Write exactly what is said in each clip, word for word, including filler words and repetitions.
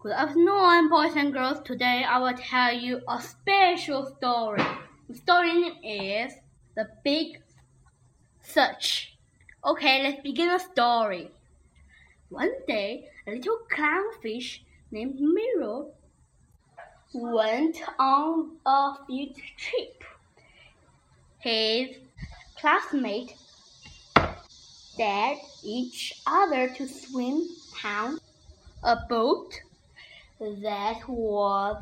Good afternoon, boys and girls. Today I will tell you a special story. The story name is The Big Search. Okay, let's begin the story. One day, a little clownfish named Mirror went on a field trip. His classmates dared each other to swim down a boat that was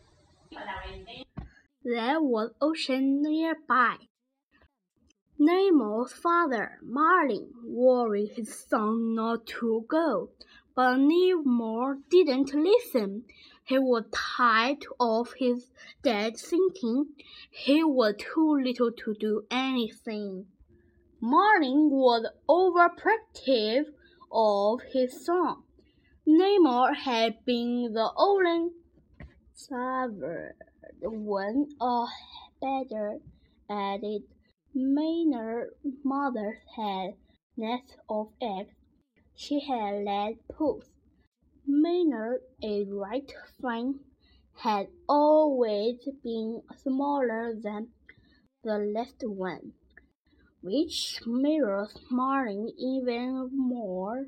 there was ocean nearby. Nemo's father, Marlin, worried his son not to go, but Nemo didn't listen. He was tired of his dad thinking he was too little to do anything. Marlin was overprotective of his son. Nemo had been the only survivor when a better at it. Maynard's mother had nests of eggs she had laid puss. Maynard, a right flank, had always been smaller than the last one, which mirrored Marlin even more.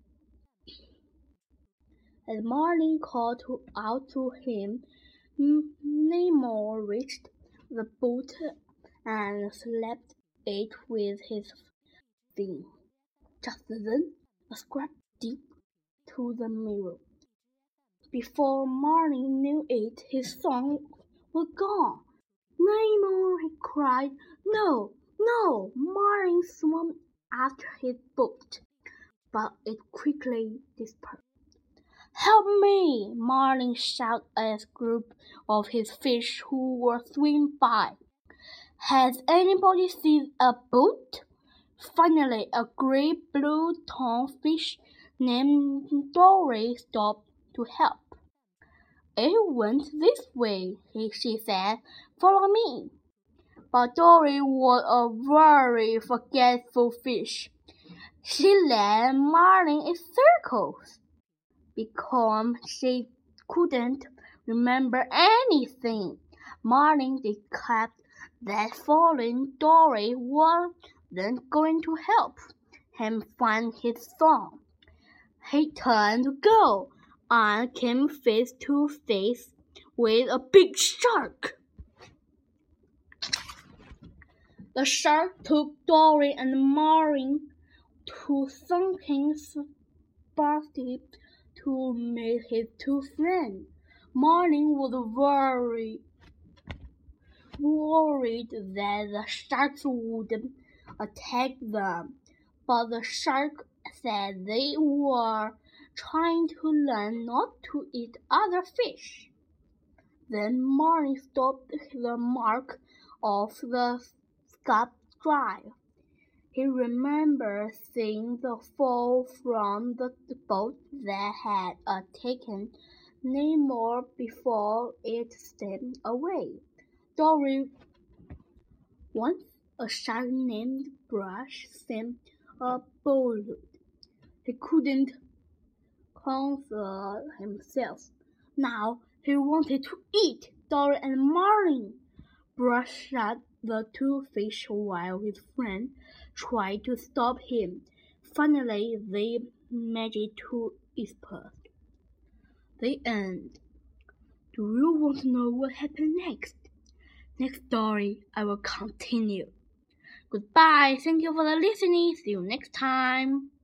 As Marlin called out to him, Nemo reached the boat and slapped it with his fin. Just then, a scrap dipped to the mirror. Before Marlin knew it, his son was gone. Nemo, he cried. No, no! Marlin swam after his boat, but it quickly disappeared. Help me! Marlin shouted at a group of his fish who were swimming by. Has anybody seen a boat? Finally, a great blue tongue-fish named Dory stopped to help. It went this way, she said. Follow me. But Dory was a very forgetful fish. She led Marlin in circles because she couldn't remember anything. Marlin declared that following Dory wasn't going to help him find his son. He turned to go and came face to face with a big shark. The shark took Dory and Marlin to sunken spotty to meet his two friends. Marlin was very worried that the sharks would attack them, but the shark said they were trying to learn not to eat other fish. Then Marlin stopped the mark of the scup drive. He remembered seeing the fall from the boat that had uh, taken Nemo before it steamed away. Dory. Once a shark named Brush seemed a bold. He couldn't control himself. Now he wanted to eat Dory and Marlin. Brush shot the two fish while his friend tried to stop him. Finally, they managed to escape. The end. Do you want to know what happened next? Next story, I will continue. Goodbye. Thank you for the listening. See you next time.